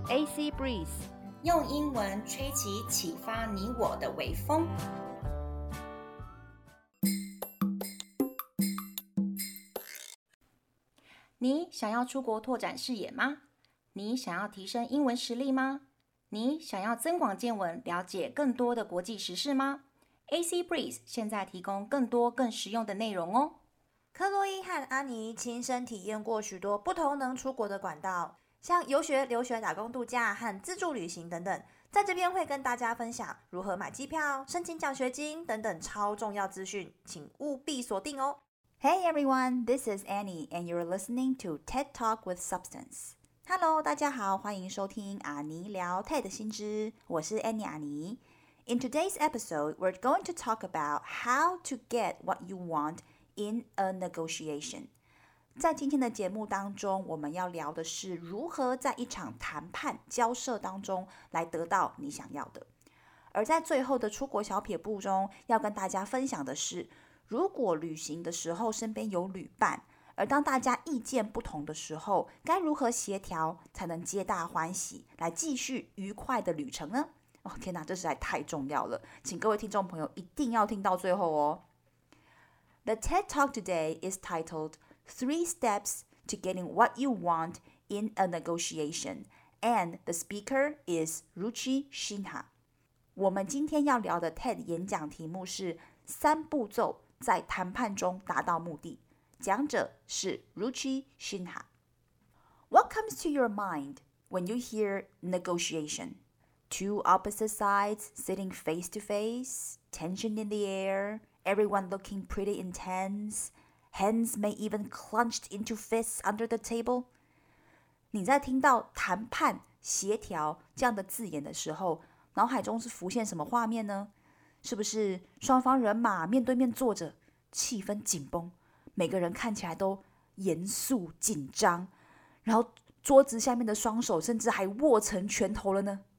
AC Breeze， 用英文吹起啟發你我的微風。 你想要出國拓展視野嗎？你想要提升英文實力嗎？你想要增廣見聞，了解更多的國際時事嗎？ AC Breeze 現在提供更多更實用的內容哦。 克洛伊和安妮親身體驗過許多不同能出國的管道，像遊學、留學、打工度假和自助旅行等等。在這邊會跟大家分享如何買機票、申請獎學金等等超重要資訊，請務必鎖定哦。 Hey everyone, this is Annie, and you're listening to TED Talk with Substance. Hello, 大家好，歡迎收聽阿尼聊 TED 新知，我是 Annie 阿尼。In today's episode, we're going to talk about how to get what you want in a negotiation. 在今天的節目當中，我們要聊的是如何在一場談判交涉當中來得到你想要的。而在最後的出國小撇步中，要跟大家分享的是，如果旅行的時候身邊有旅伴，而當大家意見不同的時候，該如何協調才能皆大歡喜，來繼續愉快的旅程呢？哦，天哪，這實在太重要了，請各位聽眾朋友一定要聽到最後哦。The TED Talk today is titled 3 Steps to Getting What You Want in a Negotiation, and the speaker is Ruchi Sinha. 我們今天要聊的 TED 演講題目是3步驟在談判中達到目的，講者是 Ruchi Sinha. What comes to your mind when you hear negotiation? Two opposite sides sitting face to face, tension in the air, everyone looking pretty intense, hands may even clenched into fists under the table. 你在聽到談判、協調這樣的字眼的時候，腦海中是浮現什麼畫面呢？是不是雙方人馬面對面坐着，氣氛緊繃，每個人看起來都嚴肅緊張，然後桌子下面的雙手甚至還握成拳頭了呢？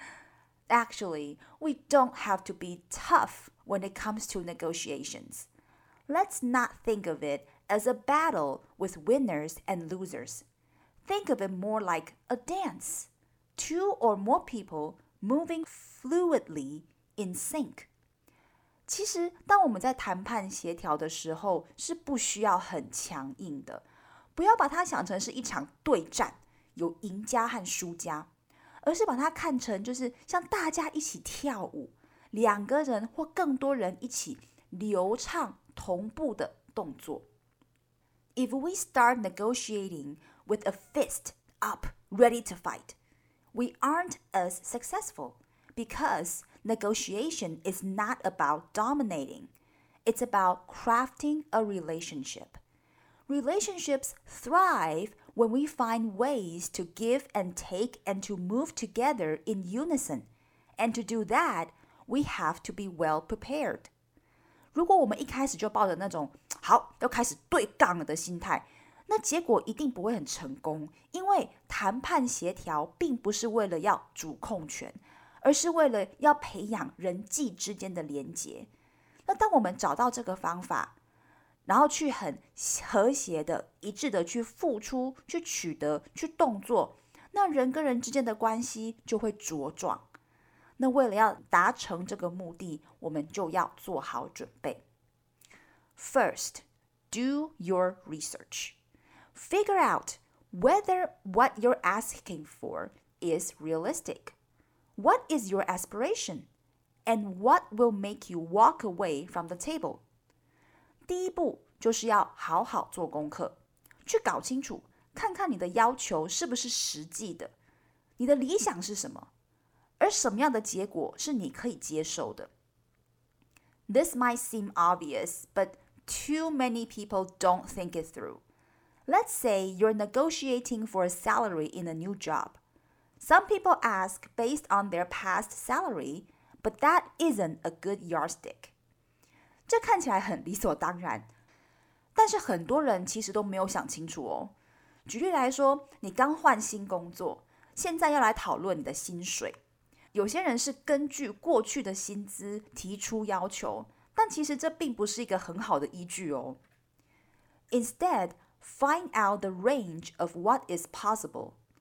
Actually, we don't have to be tough when it comes to negotiations. Let's not think of it as a battle with winners and losers. Think of it more like a dance. Two or more people moving fluidly in sync. 其實，當我們在談判協調的時候，是不需要很強硬的，不要把它想成是一場對戰，有贏家和輸家，而是把它看成就是像大家一起跳舞，兩個人或更多人一起流暢同步的動作。If we start negotiating with a fist up, ready to fight, we aren't as successful because negotiation is not about dominating. It's about crafting a relationship. Relationships thrive when we find ways to give and take and to move together in unison. And to do that, we have to be well prepared. 如果我們一開始就抱着那種好要開始對槓了的心態，那結果一定不會很成功，因為談判協調並不是為了要主控權，而是為了要培養人際之間的連結。那當我們找到這個方法，然後去很和諧的、一致的去付出、去取得、去動作，那人跟人之間的關係就會茁壯。那為了要達成這個目的，我們就要做好準備。First, do your research. Figure out whether what you're asking for is realistic. What is your aspiration? And what will make you walk away from the table? 第一步就是要好好做功課，去搞清楚，看看你的要求是不是實際的，你的理想是什麼，而什麼樣的結果是你可以接受的。This might seem obvious, but too many people don't think it through. Let's say you're negotiating for a salary in a new job. Some people ask based on their past salary, but that isn't a good yardstick. 這看起來很理所當然，但是很多人其實都沒有想清楚哦。舉例來說，你剛換新工作，現在要來討論你的薪水。有些人是根據過去的薪資提出要求，但其實這並不是一個很好的依據哦。Instead, find out the range of what is possible.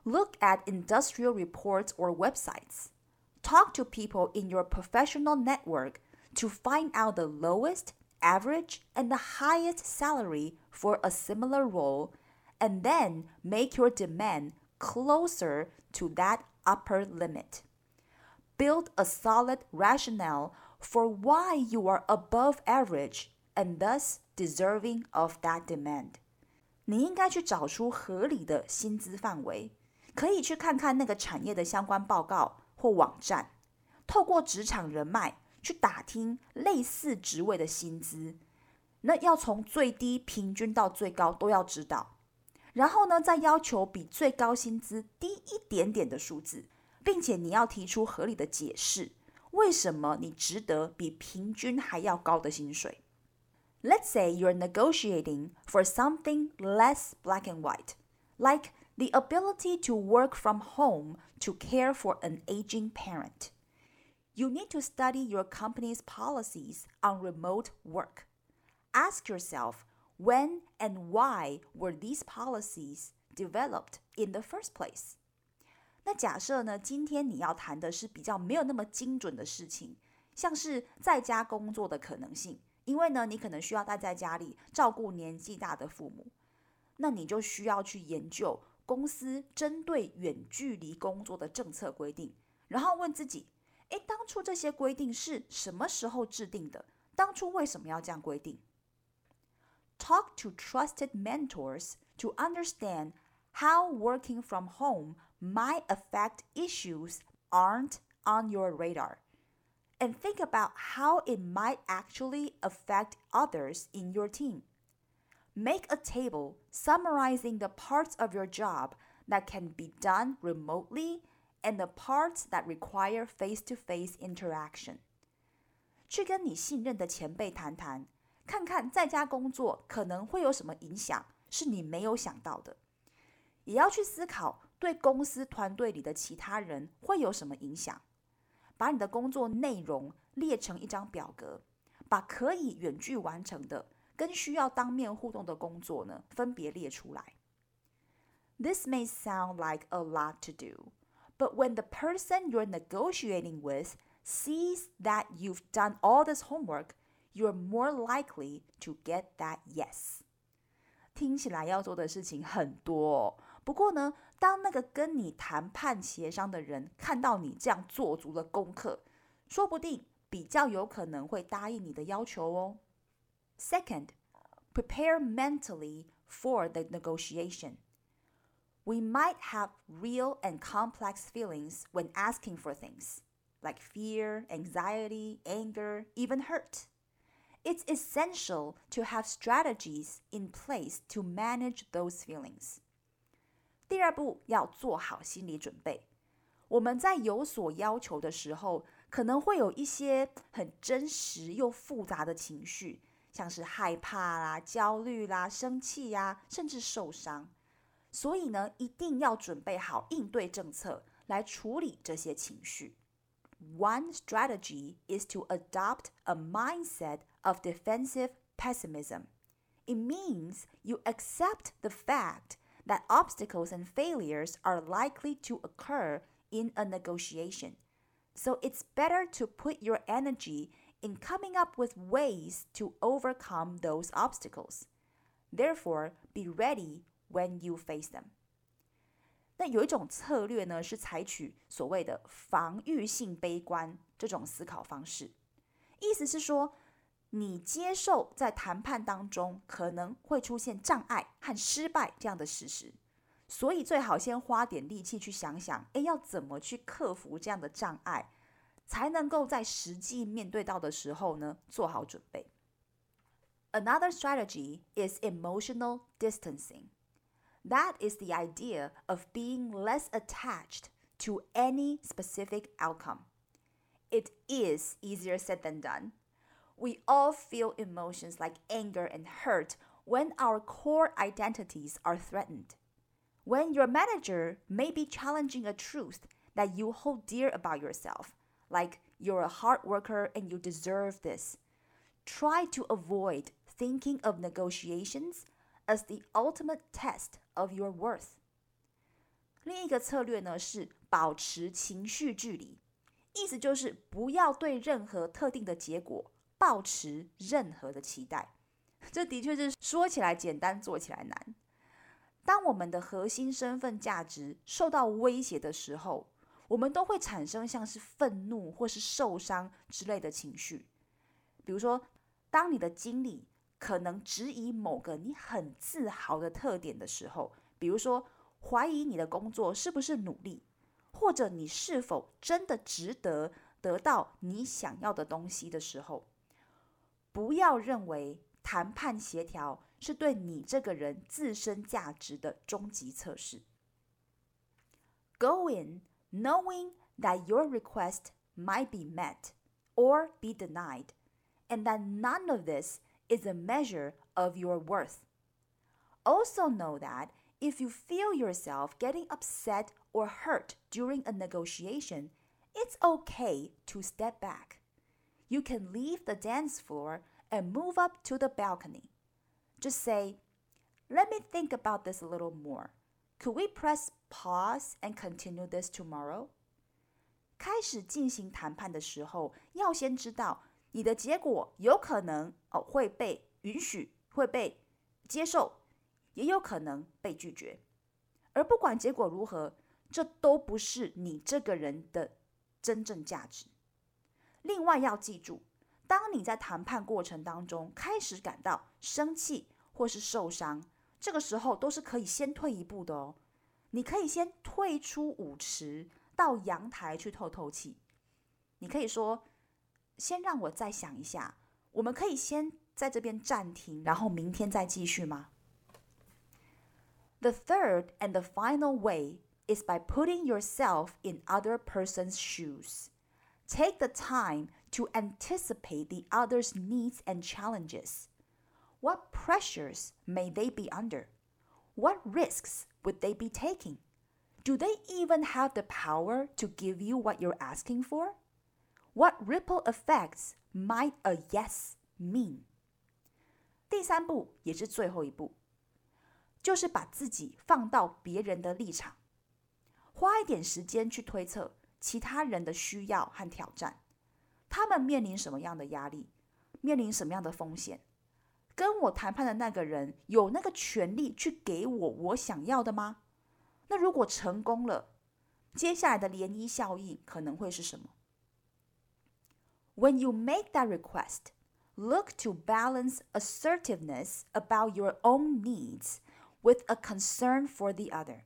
Look at industrial reports or websites. Talk to people in your professional network to find out the lowest, average, and the highest salary for a similar role, and then make your demand closer to that upper limit. Build a solid rationale for why you are above average and thus deserving of that demand. 你應該去找出合理的薪資範圍，可以去看看那個產業的相關報告或網站，透過職場人脈去打聽類似職位的薪資，那要從最低平均到最高都要知道，然後呢，再要求比最高薪資低一點點的數字，並且你要提出合理的解釋，為什麼你值得比平均還要高的薪水。Let's say you're negotiating for something less black and white, like the ability to work from home to care for an aging parent. You need to study your company's policies on remote work. Ask yourself, when and why were these policies developed in the first place? 那假設呢，今天你要談的是比較沒有那麼精準的事情，像是在家工作的可能性，因為呢，你可能需要待在家裡照顧年紀大的父母，那你就需要去研究公司針對遠距離工作的政策規定，然後問自己，當初這些規定是什麼時候制定的？當初為什麼要這樣規定？ Talk to trusted mentors to understand how working from home might affect issues aren't on your radar, and think about how it might actually affect others in your team. Make a table summarizing the parts of your job that can be done remotely and the parts that require face-to-face interaction. 去跟你信任的前輩談談，看看在家工作可能會有什麼影響，是你沒有想到的。也要去思考對公司團隊裡的其他人會有什麼影響。把你的工作內容列成一張表格，把可以遠距完成的跟需要當面互動的工作呢，分別列出來。This may sound like a lot to do, but when the person you're negotiating with sees that you've done all this homework, you're more likely to get that yes. 聽起來要做的事情很多哦，不過呢，當那個跟你談判協商的人看到你這樣做足了功課，說不定比較有可能會答應你的要求哦。Second, prepare mentally for the negotiation. We might have real and complex feelings when asking for things, like fear, anxiety, anger, even hurt. It's essential to have strategies in place to manage those feelings. 第二步，要做好心理準備。我們在有所要求的時候，可能會有一些很真實又複雜的情緒，像是害怕啦、焦慮啦、生氣呀，甚至受傷。所以呢，一定要準備好應對政策來處理這些情緒。One strategy is to adopt a mindset of defensive pessimism. It means you accept the fact that obstacles and failures are likely to occur in a negotiation. So it's better to put your energy in coming up with ways to overcome those obstacles. Therefore, be ready when you face them. 那有一種策略呢，是採取所謂的防禦性悲觀這種思考方式。意思是說，你接受在談判當中可能會出現障礙和失敗這樣的事實，所以最好先花點力氣去想想，要怎麼去克服這樣的障礙，才能夠在實際面對到的時候呢，做好準備。Another strategy is emotional distancing. That is the idea of being less attached to any specific outcome. It is easier said than done. We all feel emotions like anger and hurt when our core identities are threatened. When your manager may be challenging a truth that you hold dear about yourself, like you're a hard worker and you deserve this, try to avoid thinking of negotiations as the ultimate test of your worth. 另一個策略呢是保持情緒距離，意思就是不要對任何特定的結果抱持任何的期待。這的確是說起來簡單，做起來難。當我們的核心身份價值受到威脅的時候，我們都會產生像是憤怒或是受傷之類的情緒。比如說，當你的經理可能質疑某個你很自豪的特點的時候，比如說懷疑你的工作是不是努力，或者你是否真的值得得到你想要的東西的時候，不要認為談判協調是對你這個人自身價值的終極測試。Go in knowing that your request might be met or be denied, and that none of this is a measure of your worth. Also know that if you feel yourself getting upset or hurt during a negotiation, it's okay to step back. You can leave the dance floor and move up to the balcony. Just say, let me think about this a little more. Could we press pause and continue this tomorrow? 開始進行談判的時候，要先知道你的結果有可能會被允許，會被接受，也有可能被拒絕。而不管結果如何，這都不是你這個人的真正價值。另外要記住，當你在談判過程當中開始感到生氣或是受傷，這個時候都是可以先退一步的哦。你可以先退出舞池，到陽台去透透氣。你可以說，先讓我再想一下，我們可以先在這邊暫停，然後明天再繼續嗎？ The third and the final way is by putting yourself in other person's shoes. Take the time to anticipate the other's needs and challenges. What pressures may they be under? What risks would they be taking? Do they even have the power to give you what you're asking for? What ripple effects might a yes mean? 第三步也是最後一步，就是把自己放到別人的立場，花一點時間去推測其他人的需要和挑戰，他們面臨什麼樣的壓力，面臨什麼樣的風險，跟我談判的那個人有那個權利去給我想要的嗎？那如果成功了，接下來的漣漪效應可能會是什麼？ When you make that request, look to balance assertiveness about your own needs with a concern for the other.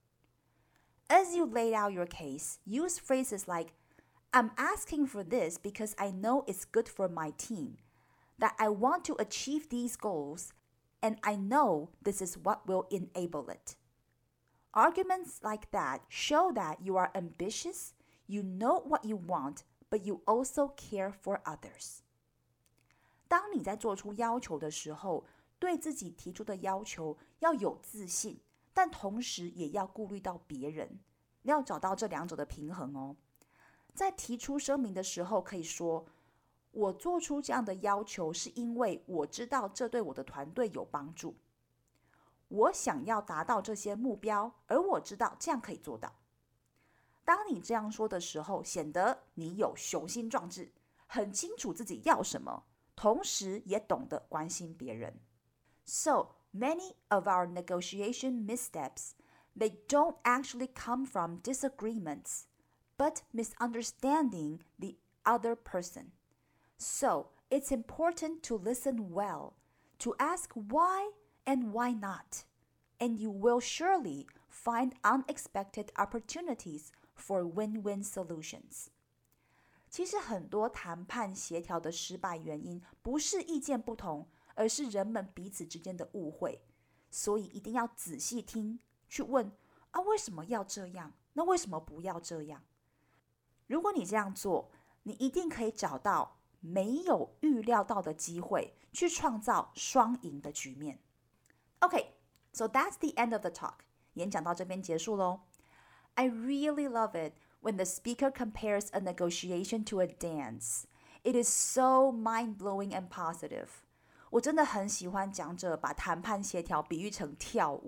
As you lay out your case, use phrases like, I'm asking for this because I know it's good for my team, that I want to achieve these goals, and I know this is what will enable it. Arguments like that show that you are ambitious, you know what you want, but you also care for others. 當你在做出要求的時候，對自己提出的要求要有自信，但同時也要顧慮到別人，你要找到這兩者的平衡哦。在提出聲明的時候，可以說，我做出這樣的要求是因為我知道這對我的團隊有幫助。我想要達到這些目標，而我知道這樣可以做到。當你這樣說的時候，顯得你有雄心壯志，很清楚自己要什麼，同時也懂得關心別人。So, many of our negotiation missteps, they don't actually come from disagreements, but misunderstanding the other person. So, it's important to listen well, to ask why and why not, and you will surely find unexpected opportunities for win-win solutions. 其實很多談判協調的失敗原因不是意見不同，而是人們彼此之間的誤會。所以一定要仔細聽，去問啊，為什麼要這樣？那為什麼不要這樣？如果你這樣做，你一定可以找到沒有預料到的機會，去創造雙贏的局面。Okay, so that's the end of the talk. 演講到這邊結束咯。I really love it when the speaker compares a negotiation to a dance. It is so mind-blowing and positive. 我真的很喜歡講者把談判協調比喻成跳舞，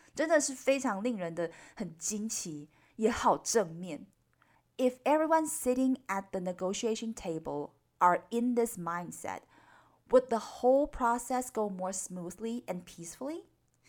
真的是非常令人的很驚奇，也好正面。If everyone sitting at the negotiation table are in this mindset, would the whole process go more smoothly and peacefully?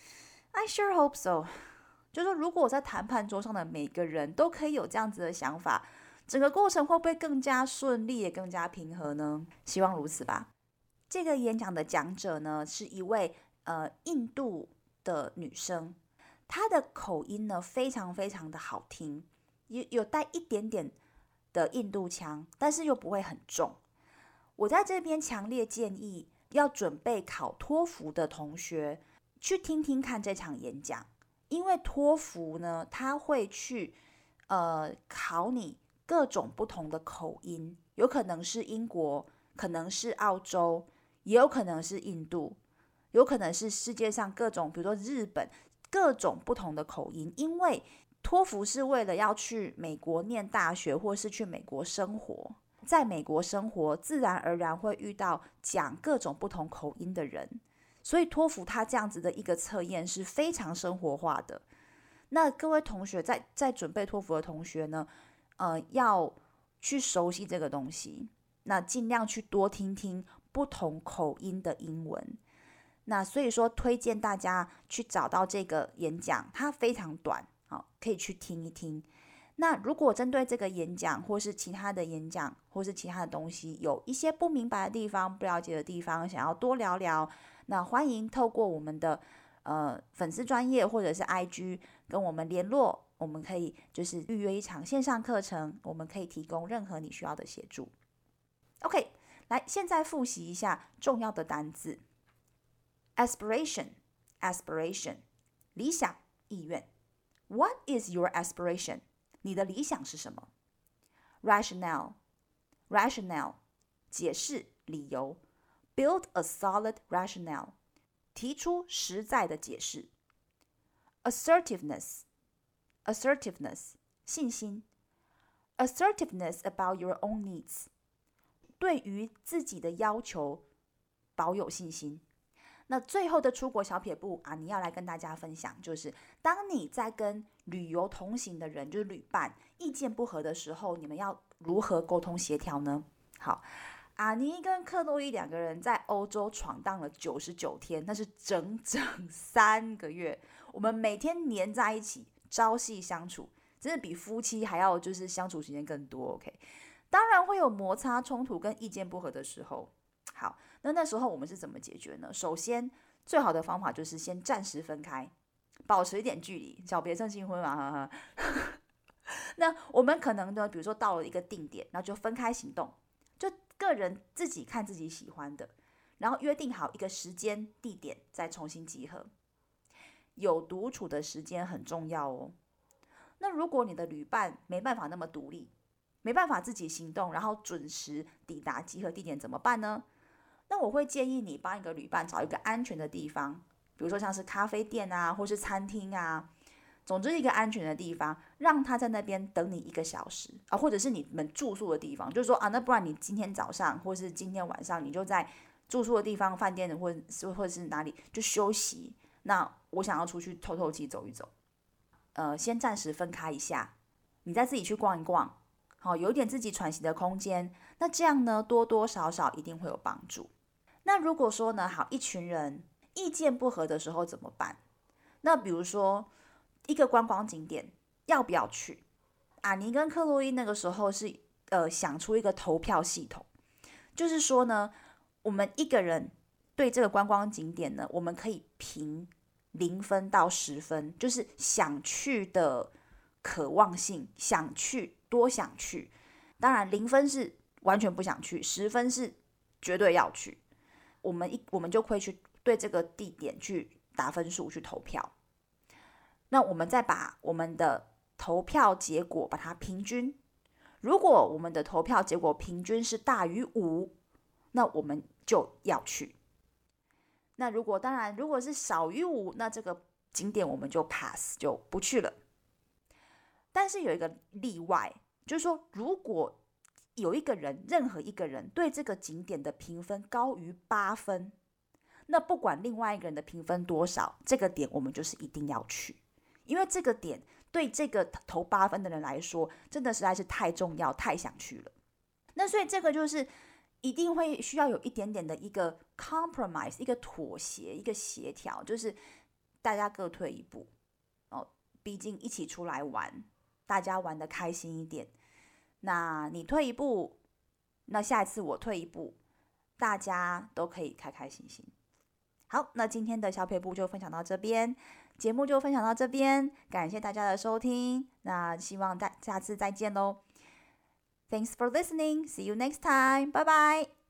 I sure hope so. 就是說，如果我在談判桌上的每個人都可以有這樣子的想法，整個過程會不會更加順利，也更加平和呢？希望如此吧。這個演講的講者呢，是一位印度的女生，她的口音呢非常非常的好聽，有帶一點點的印度腔，但是又不會很重。我在這邊強烈建議要準備考托福的同學去聽聽看這場演講，因為托福呢，它會去考你各種不同的口音，有可能是英國，可能是澳洲，也有可能是印度，有可能是世界上各種，比如說日本，各種不同的口音。因為托福是為了要去美國念大學，或是去美國生活，在美國生活自然而然會遇到講各種不同口音的人，所以托福它這樣子的一個測驗是非常生活化的。那各位同學在準備托福的同學呢，要去熟悉這個東西，那盡量去多聽聽不同口音的英文。那所以說推薦大家去找到這個演講，它非常短，可以去聽一聽。那如果針對這個演講或是其他的演講或是其他的東西有一些不明白的地方、不了解的地方，想要多聊聊，那歡迎透過我們的粉絲專頁或者是 IG 跟我們聯絡，我們可以就是預約一場線上課程，我們可以提供任何你需要的協助。OK， 來，現在複習一下重要的單字。Aspiration， 理想、意願。What is your aspiration？ 你的理想是什麼？ Rationale， 解釋、理由。Build a solid rationale， 提出實在的解釋。Assertiveness， 信心。Assertiveness about your own needs， 對於自己的要求保有信心。那最後的出國小撇步啊，你要來跟大家分享，就是當你在跟旅遊同行的人，就是旅伴，意見不合的時候，你們要如何溝通協調呢？好，阿尼跟克洛伊兩個人在歐洲闖蕩了99天，那是整整3個月，我們每天黏在一起，朝夕相處，真的比夫妻還要就是相處時間更多。OK， 當然會有摩擦、衝突跟意見不合的時候。好，那時候我們是怎麼解決呢？首先，最好的方法就是先暫時分開，保持一點距離，小別勝新婚嘛，哈哈。那我們可能呢，比如說到了一個定點，然後就分開行動，就個人自己看自己喜歡的，然後約定好一個時間地點，再重新集合。有獨處的時間很重要哦。那如果你的旅伴沒辦法那麼獨立，沒辦法自己行動，然後準時抵達集合地點怎麼辦呢？那我會建議你幫一個旅伴找一個安全的地方，比如說像是咖啡店啊，或是餐廳啊，總之一個安全的地方，讓他在那邊等你1個小時啊，或者是你們住宿的地方，就是說啊，那不然你今天早上或是今天晚上，你就在住宿的地方、飯店或者是哪裡就休息。那我想要出去透透氣、走一走，先暫時分開一下，你再自己去逛一逛，好，有一點自己喘息的空間。那這樣呢，多多少少一定會有幫助。那如果說呢，好，一群人意見不合的時候怎麼辦？那比如說一個觀光景點要不要去？阿尼跟克洛伊那個時候是想出一個投票系統，就是說呢，我們一個人對這個觀光景點呢，我們可以評0分到10分，就是想去的渴望性，想去多想去。當然0分是完全不想去，10分是絕對要去。我們就會去對這個地點去打分數，去投票。那我們再把我們的投票結果把它平均。如果我們的投票結果平均是大於5，那我們就要去。那如果是少於5，那這個景點我們就 pass， 就不去了。但是有一個例外，就是說如果有任何一個人對這個景點的評分高於8分， 那不管另外一個人的評分多少，這個點我們就是一定要去，因為這個點對這個投8分的人來說，真的實在是太重要，太想去了。那所以這個就是一定會需要有一點點的一個 compromise， 一個妥協，一個協調，就是大家各退一步哦，畢竟一起出來玩，大家玩得開心一點。那你退一步，那下一次我退一步，大家都可以開開心心。好，那今天的小撇步就分享到這邊，節目就分享到這邊，感謝大家的收聽，那希望下次再見嘍。Thanks for listening. See you next time. Bye bye.